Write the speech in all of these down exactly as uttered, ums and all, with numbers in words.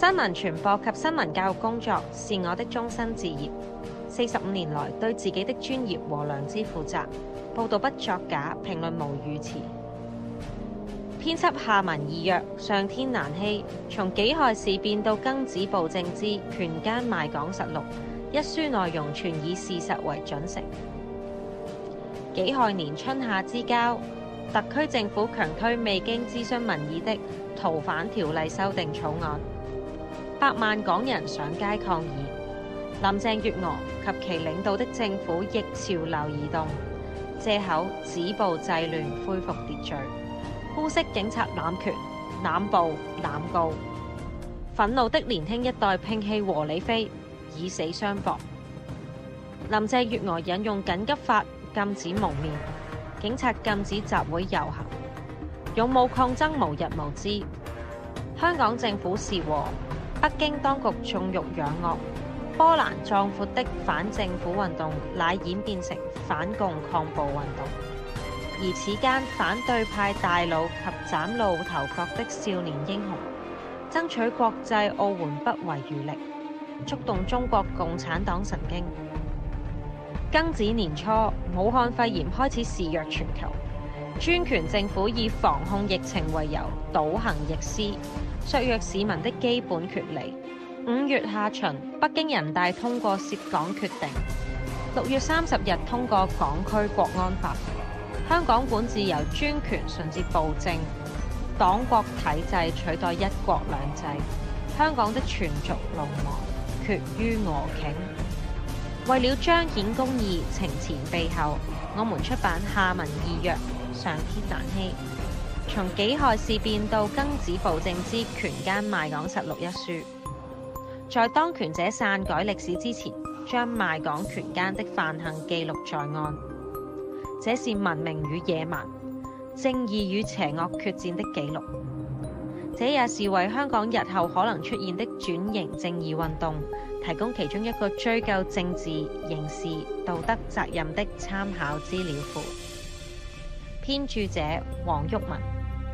新聞傳播及新聞教育工作是我的終身志業。四十五年來，對自己的專業和良知負責，報導不作假，評論無語詞。編輯下文意約，上天難欺。從己亥事變到庚子暴政之權奸賣港實錄，一書內容全以事實為準繩。己亥年春夏之交，特區政府強推未經諮詢民意的逃犯條例修訂草案，百萬港人上街抗議。林鄭月娥及其領導的政府逆潮流而動，借口止暴制亂恢復秩序，污蔑警察濫權、濫暴、濫告。憤怒的年輕一代摒棄和理非，以死相搏。林鄭月娥引用緊急法禁止蒙面，警察禁止集會遊行，勇武抗爭無日無之。香港政府是和，北京當局縱欲養惡。波瀾壯闊的反政府運動乃演變成反共抗暴運動，而此間反對派大佬及嶄露頭角的少年英雄，爭取國際奧援不遺餘力，觸動中國共產黨神經。庚子年初，武漢肺炎開始肆虐全球，專權政府以防控疫情為由，倒行逆施，削弱市民的基本權利。五月下旬，北京人大通過涉港決定；六月三十日通過港區國安法。香港管治由專權順至暴政，黨國體制取代一國兩制。香港的全族龍亡，決於俄頃。為了彰顯公義，情前備後，我們出版下文意約，上天難欺。從己亥事變到庚子暴政之權奸賣港實錄一書。在當權者篡改歷史之前，將賣港權奸的犯行記錄在案。這是文明與野蠻、正義與邪惡決戰的記錄。這也是為香港日後可能出現的轉型正義運動提供其中一個追究政治、刑事、道德責任的參考資料庫。編著者黃毓民。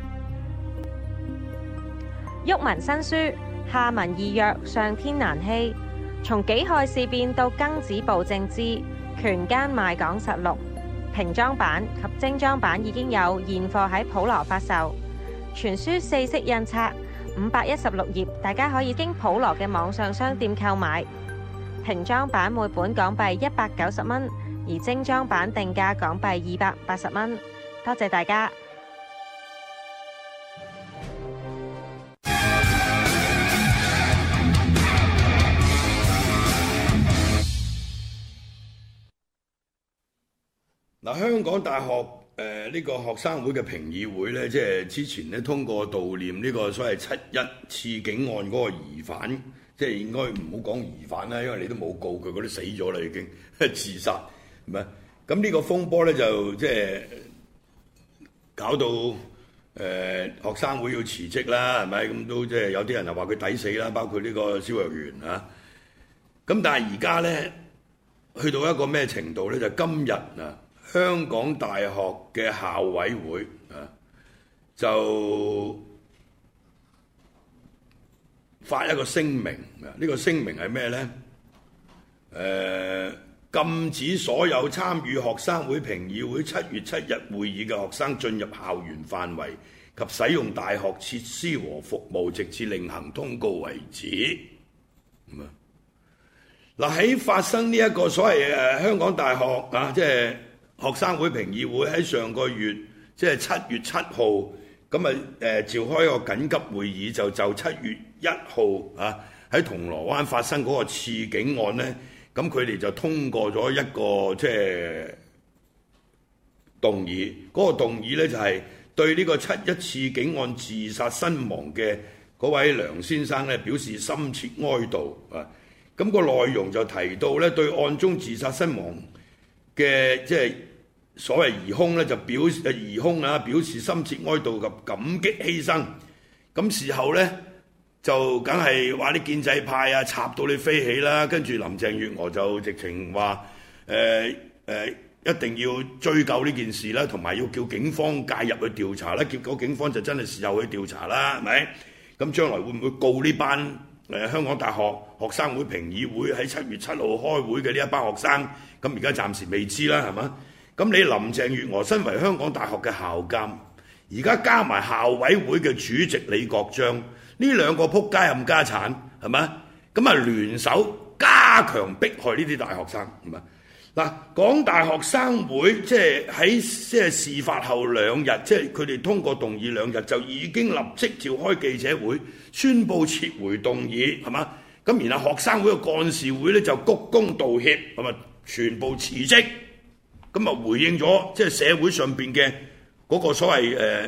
毓民新書。下文意約，上天難欺。從己亥事變到庚子暴政之權奸賣港實錄，平裝版及精裝版已經有現貨喺普羅發售。全書四色印刷，五百一十六頁，大家可以經普羅嘅網上商店購買。平裝版每本港幣一百九十蚊，而精裝版定價港幣二百八十蚊。多謝大家。 嗱，香港大學誒呢、呃這個學生會嘅評議會咧，即係之前咧通過悼念呢個所謂七一刺警案嗰個疑犯，即係應該唔好講疑犯啦，因為你都冇告佢，嗰啲死咗啦已經自殺，係咪？咁呢個風波咧就即係搞到誒、呃、學生會要辭職啦，係咪？咁都即係有啲人就話佢抵死啦，包括呢個蕭若元啊。咁但係而家咧去到一個咩程度咧？就今日啊。香港大學嘅校委會啊，就發一個聲明啊！呢個聲明係咩呢？誒，禁止所有參與學生會評議會七月七日會議嘅學生進入校園範圍及使用大學設施和服務，直至另行通告為止。咁啊，嗱喺發生呢一個所謂誒香港大學啊，即係學生會評議會喺上個月，即係七月七號，咁啊誒召開一個緊急會議，就就七月一號啊喺銅鑼灣發生嗰個刺警案呢，咁佢哋就通過咗一個即係動議，嗰、那個動議呢，就係對呢個七一刺警案自殺身亡嘅嗰位梁先生呢表示深切哀悼啊！咁、那個內容就提到呢，對案中自殺身亡嘅即係所謂疑兇咧，就表示疑兇啊，表示深切哀悼及感激犧牲。咁事後咧就梗係話啲建制派啊插到你飛起啦，跟住林鄭月娥就直情話誒誒一定要追究呢件事啦，同埋要叫警方介入去調查啦。結果警方就真係事後去調查啦，係咪？咁將來會唔會告呢班誒香港大學學生會評議會喺七月七號開會嘅呢一班學生，咁而家暫時未知啦，係嘛？咁你林鄭月娥身為香港大學嘅校監，而家加埋校委會嘅主席李國章，呢兩個仆街冚家產，係嘛？咁啊聯手加強迫害呢啲大學生，係嘛？嗱，港大學生會即係喺即係事發後兩日，即係佢哋通過動議兩日，就已經立即召開記者會，宣布撤回動議，係嘛？咁然後學生會嘅幹事會咧就鞠躬道歉，係咪全部辭職？咁啊回應咗即係社會上邊嘅嗰個所謂誒、呃，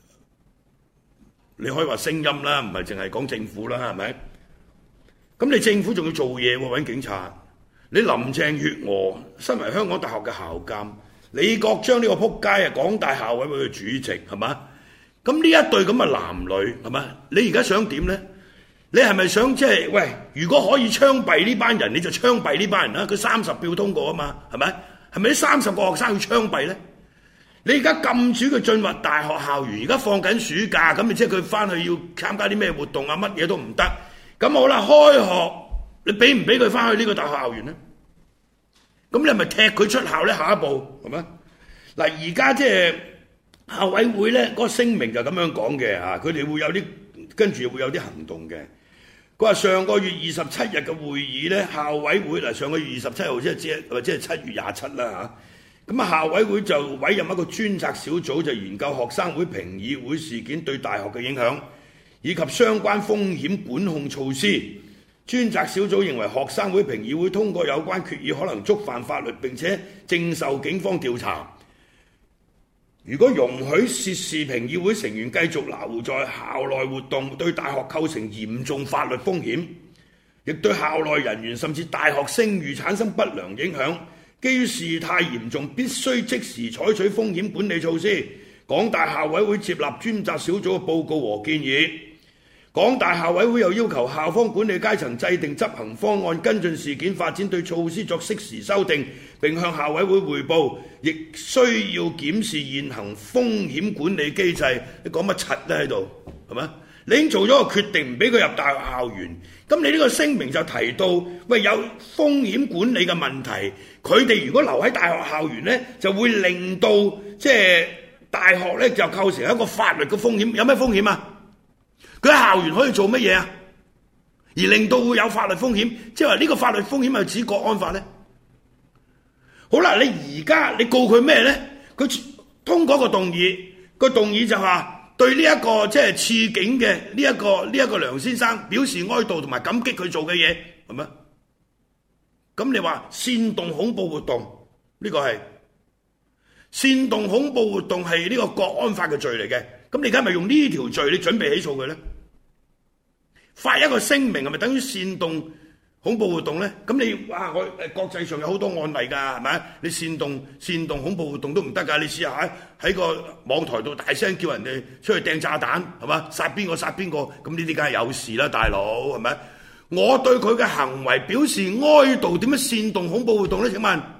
你可以話聲音啦，唔係淨係講政府啦，係咪？咁你政府仲要做嘢喎，揾警察。你林鄭月娥身為香港大學嘅校監，李國章呢個仆街啊，港大校委會嘅主席，係嘛？咁呢一對咁嘅男女，係嘛？你而家想點呢？你係咪想即係喂？如果可以槍斃呢班人，你就槍斃呢班人啦！佢三十票通過啊嘛，係咪？係咪呢三十個學生要槍斃呢？你而家禁止佢進入大學校園，而家放緊暑假，咁即係佢翻去要參加啲咩活動啊？乜嘢都唔得。咁好啦，開學。你俾唔俾佢翻去呢個大學校園呢？咁你係咪踢佢出校呢？下一步係咪？嗱，而家即係校委會呢嗰個聲明就咁樣講嘅嚇，佢哋會有啲跟住會有啲行動嘅。佢話上個月二十七日嘅會議呢，校委會嗱上個月二十七號即係即係或者係七月廿七啦嚇。咁啊，校委會就委任一個專責小組，就研究學生會評議會事件對大學嘅影響，以及相關風險管控措施。專責小組認為學生會評議會通過有關決議可能觸犯法律，並且正受警方調查。如果容許涉事評議會成員繼續留在校內活動，對大學構成嚴重法律風險，亦對校內人員甚至大學聲譽產生不良影響。基於事態嚴重，必須即時採取風險管理措施。港大校委會接納專責小組嘅報告和建議。港大校委會又要求校方管理階層制定執行方案，跟進事件發展，對措施作適時修訂，並向校委會匯報。亦需要檢視現行風險管理機制。你講乜柒咧喺度？係咪？你已經做咗個決定，唔俾佢入大學校園。咁你呢個聲明就提到，喂，有風險管理嘅問題。佢哋如果留喺大學校園呢，就會令到即係大學呢就構成一個法律嘅風險。有咩風險啊？佢喺校園可以做乜嘢啊？而令到會有法律風險，即係話呢個法律風險係指國安法呢？好啦，你而家你告佢咩呢？佢通過個動議，個動議就話對呢一個即係刺警嘅呢一個呢一個梁先生表示哀悼同埋感激佢做嘅嘢，係咪？咁你話煽動恐怖活動呢個係煽動恐怖活動係呢個國安法嘅罪嚟嘅。咁你而家咪用呢條罪，你準備起訴佢呢？發一個聲明係咪等於煽動恐怖活動呢？咁你哇，我誒國際上有好多案例㗎，係咪？你煽動煽動恐怖活動都唔得㗎。你試下喺喺個網台度大聲叫人哋出去掟炸彈，係嘛？殺邊個殺邊個？咁呢啲梗係有事啦，大佬係咪？我對佢嘅行為表示哀悼，點樣煽動恐怖活動呢？請問，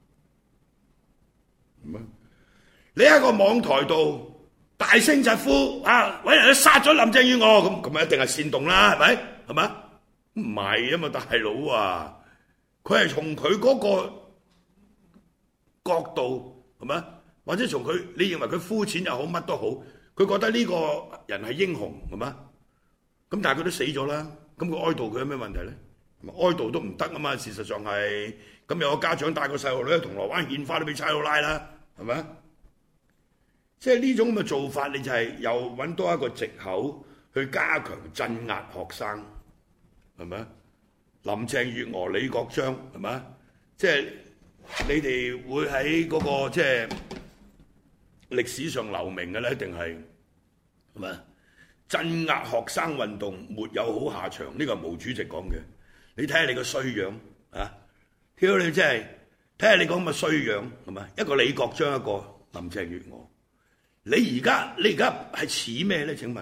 你喺個網台度大聲疾呼啊！搵人去殺咗林鄭月娥，咁咁咪一定係煽動啦，係咪？係嘛？唔係啊嘛，大佬啊，佢係從佢嗰個角度係咪？或者從佢你認為佢膚淺又好，乜都好，佢覺得呢個人係英雄係嘛？咁但係佢都死咗啦，咁佢哀悼佢有咩問題咧？哀悼都唔得啊嘛，事實上係咁有個家長帶個細路女去銅鑼灣獻花都俾差佬拉啦，係咪？即係呢種咁嘅做法，你就係又揾多一個藉口去加強鎮壓學生，係咪？林鄭月娥、李國章，係咪？即係你哋會喺嗰個即係歷史上留名嘅咧，一定係係咪？鎮壓學生運動沒有好下場，呢個係毛主席講嘅。你睇下你個衰樣啊！挑你真係睇下你講咁嘅衰樣係咪？一個李國章，一個林鄭月娥。你而家你而家係似咩咧？請問，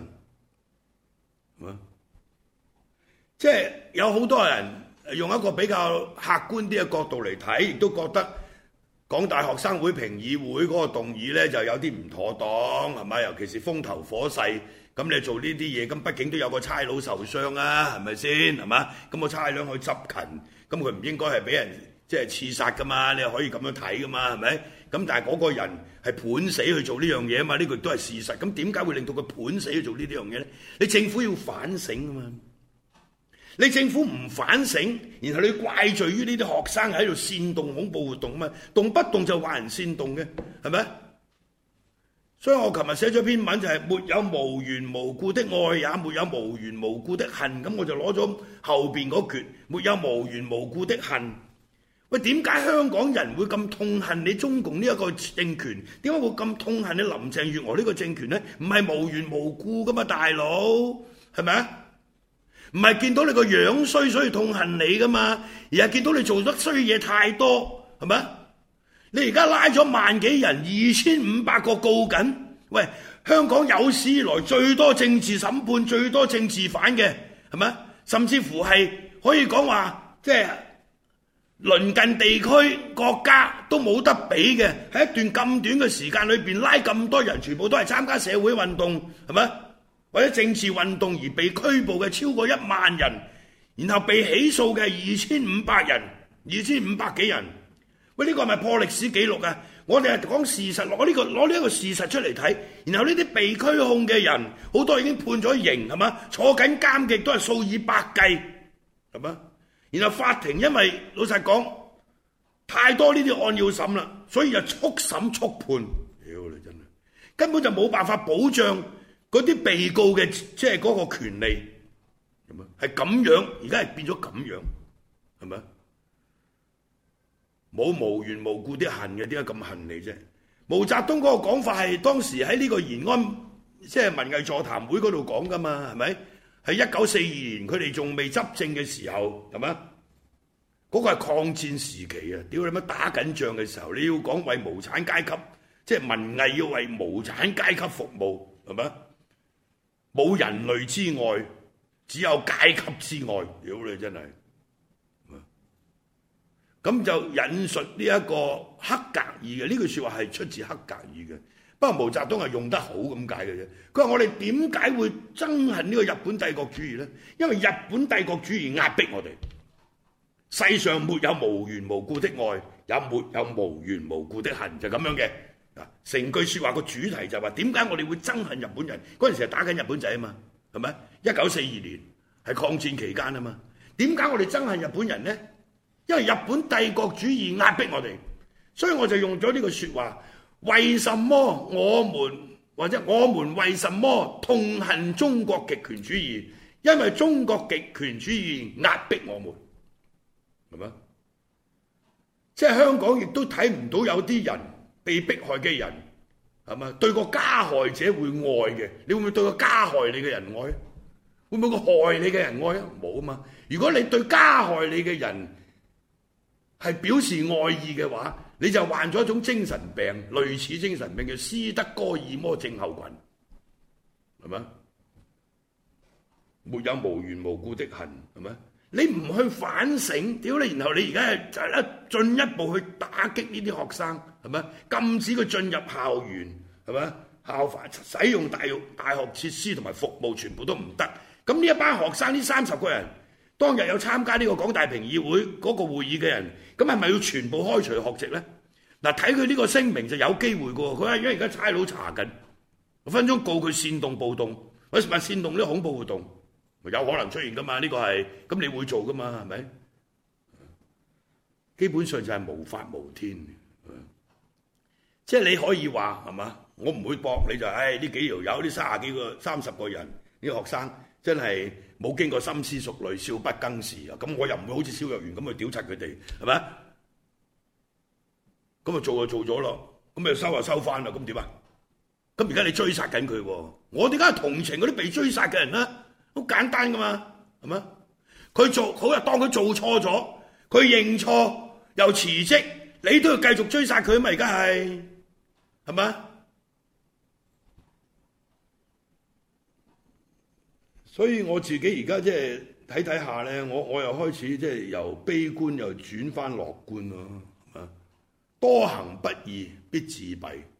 即係有好多人用一個比較客觀啲嘅角度嚟睇，亦都覺得港大學生會評議會嗰個動議咧就有啲唔妥當，係咪？尤其是風頭火勢咁你做呢啲嘢，咁畢竟都有個差佬受傷啊，係咪先？係嘛？咁個差佬去執勤，咁佢唔應該係俾人即係刺殺噶嘛？你可以咁樣睇噶嘛？係咪？咁但係嗰個人係判死去做呢樣嘢啊嘛？呢個都係事實。咁點解會令到佢判死去做呢啲樣嘢咧？你政府要反省啊嘛！你政府唔反省，然後你怪罪於呢啲學生喺度煽動恐怖活動啊嘛，動不動就話人煽動嘅，係咪？所以我琴日寫咗篇文就係沒有無緣無故的愛，也沒有無緣無故的恨。咁我就攞咗後邊嗰橛，沒有無緣無故的恨。喂，點解香港人會咁痛恨你中共呢一個政權？點解會咁痛恨你林鄭月娥呢個政權呢？唔係無緣無故噶嘛，大佬，係咪啊？唔係見到你個樣衰所以痛恨你噶嘛，而係見到你做得衰嘢太多，係咪？你而家拉咗萬幾人，二千五百個告緊。喂，香港有史以來最多政治審判、最多政治犯嘅，係咪？甚至乎係可以講話，即係鄰近地區國家都冇得比嘅。喺一段咁短嘅時間裏邊拉咁多人，全部都係參加社會運動，係咪？或者政治運動而被拘捕嘅超過一萬人，然後被起訴嘅二千五百人，二千五百幾人。喂，呢個係咪破歷史紀錄啊？我哋係講事實，攞呢個攞呢一個事實出嚟睇，然後呢啲被拘控嘅人，好多已經判咗刑，係嘛？坐緊監嘅都係數以百計，係嘛？然後法庭因為老實講太多呢啲案要審啦，所以就速審速判。屌你真係根本就冇辦法保障嗰啲被告嘅即係嗰個權利，係嘛？係咁樣，而家係變咗咁樣，係咪？冇無緣無故啲恨嘅，點解咁恨你啫？毛澤東嗰個講法係當時喺呢個延安即係文藝座談會嗰度講噶嘛，係咪？喺一九四二年佢哋仲未執政嘅時候，係咪？嗰個係抗戰時期啊！屌你乜打緊仗嘅時候，你要講為無產階級，即係文藝要為無產階級服務，係咪？冇人類之外，只有階級之外，屌你真係！咁就引述呢一個黑格爾嘅呢句説話係出自黑格爾嘅，不過毛澤東係用得好咁解嘅啫。佢話我哋點解會憎恨呢個日本帝國主義呢？因為日本帝國主義壓迫我哋。世上沒有無緣無故的愛，也沒有無緣無故的恨，就咁樣嘅。啊，成句説話個主題就係話點解我哋會憎恨日本人？嗰陣時係打緊日本仔啊嘛，係咪？一九四二年係抗戰期間啊嘛。點解我哋憎恨日本人呢？因為日本帝國主義壓迫我哋，所以我就用咗呢個説話：為什麼我們或者我們為什麼痛恨中國極權主義？因為中國極權主義壓迫我們，係咪？即係香港亦都睇唔到有啲人被迫害嘅人，係咪？對個加害者會愛嘅，你會唔會對個加害你嘅人愛？會唔會個害你嘅人愛啊？冇啊嘛！如果你對加害你嘅人係表示愛意嘅話，你就患咗一種精神病，類似精神病叫斯德哥爾摩症候群，係咪？沒有無緣無故的恨，係咪？你唔去反省，屌你！然後你而家係就一進一步去打擊呢啲學生，係咪？禁止佢進入校園，係咪？校範使用大學大學設施同埋服務全部都唔得。咁呢一班學生呢三十個人，當日有參加呢個港大評議會嗰個會議嘅人，咁係咪要全部開除學籍咧？嗱，睇佢呢個聲明就有機會嘅喎。佢話因為而家差佬查緊，分鐘告佢煽動暴動，或者煽動呢個恐怖活動，有可能出現噶嘛？呢個係咁你會做噶嘛？係咪？基本上就係無法無天，即係你可以話係嘛？我唔會駁你就係呢幾條友，呢三十幾個、三十個人呢個學生。真係冇經過深思熟慮，少不更事啊！咁我又唔會好似蕭若元咁去屌柒佢哋，係咪？咁啊做就做咗咯，咁咪收就收翻啦，咁點啊？咁而家你追殺緊佢喎，我點解係同情嗰啲被追殺嘅人咧？好簡單噶嘛，係咪？佢做好啊，當佢做錯咗，佢認錯又辭職，你都要繼續追殺佢啊嘛！而家係係咪？所以我自己而家即係睇睇下咧，我我又開始即係由悲觀又轉翻樂觀咯。啊，多行不義必自斃，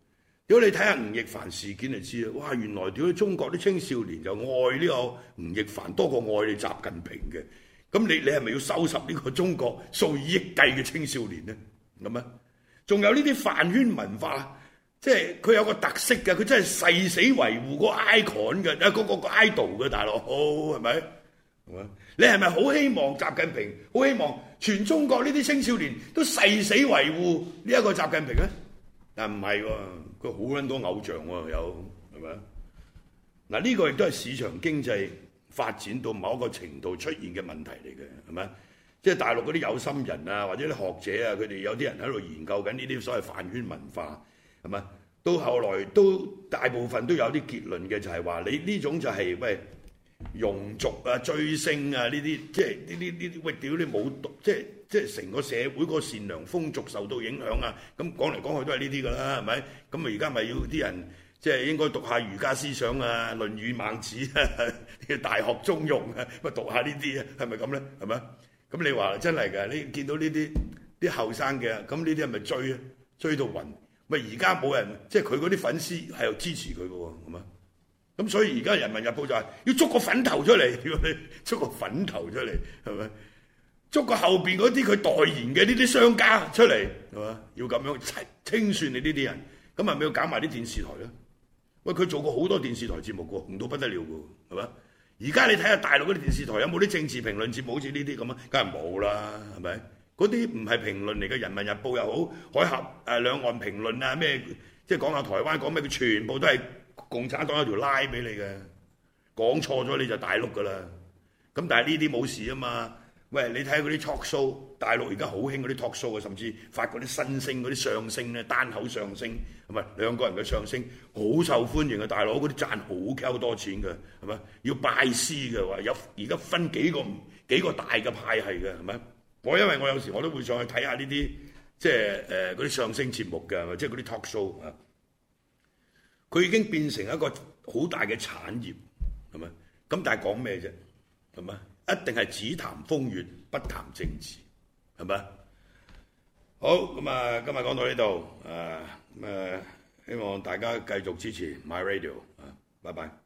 如果你睇下吳亦凡事件就知啦，哇！原來屌中國啲青少年就愛呢個吳亦凡多過愛你習近平嘅。咁你你係咪要收拾呢個中國數以億計嘅青少年呢？咁啊，仲有呢啲飯圈文化，即係佢有個特色嘅，佢真係誓死維護個 icon 嘅，啊嗰個個 idol 嘅大佬，係咪？係嘛？你係咪好希望習近平？好希望全中國呢啲青少年都誓死維護呢一個習近平咧？但唔係喎，佢好撚多偶像喎，有係咪？嗱，呢個亦都係市場經濟發展到某一個程度出現嘅問題嚟嘅，係咪？即係大陸嗰啲有心人啊，或者啲學者啊，佢哋有啲人喺度研究緊呢啲所謂飯圈文化，係咪？到後來都大部分都有啲結論嘅，就係話你呢種就係喂庸俗啊、追星啊呢啲，即係呢啲呢啲喂屌你冇讀，即係即係成個社會個善良風俗受到影響啊！咁講嚟講去都係呢啲㗎啦，係咪？咁啊而家咪要啲人即係應該讀下儒家思想啊，《論語》《孟子》啊，《大學》《中庸》啊，咪讀下呢啲啊，係咪咁咧？係咪？咁你話真係㗎？你見到呢啲啲後生嘅，咁呢啲係咪追啊？追到暈？咪而家冇人，即係佢嗰啲粉絲係又支持佢嘅喎，係嘛？咁所以而家《人民日報》就係要捉個粉頭出嚟，要你捉個粉頭出嚟，係咪？捉個後邊嗰啲佢代言嘅呢啲商家出嚟，係嘛？要咁樣清算你呢啲人，咁係咪要搞埋啲電視台咧？喂，佢做過好多電視台節目嘅，紅到不得了嘅，係嘛？而家你睇下大陸嗰啲電視台有冇啲政治評論節目好似呢啲咁啊？梗係冇啦，係咪？嗰啲唔係評論嚟嘅，《人民日報》又好，海峽誒兩岸評論啊咩，即係講下台灣講咩，佢全部都係共產黨有條拉俾你嘅，講錯咗你就大碌噶啦。咁但係呢啲冇事啊嘛。喂，你睇下嗰啲 talk show，大陸而家好興嗰啲 talk show 啊，甚至發嗰啲新星嗰啲相聲咧，單口相聲，係咪兩個人嘅相聲好受歡迎嘅？大佬嗰啲賺好鳩多錢嘅，係咪？要拜師嘅話，有而家分幾個幾個大嘅派系嘅，係咪？我因為我有時我都會上去睇下呢啲即係誒嗰啲相聲節目嘅，即係嗰啲 talk show 啊，佢已經變成一個好大嘅產業，係咪？咁但係講咩啫？係咪？一定係只談風月，不談政治，係咪？好，咁啊，今日講到呢度，誒咁誒，希望大家繼續支持 My Radio 啊，拜拜。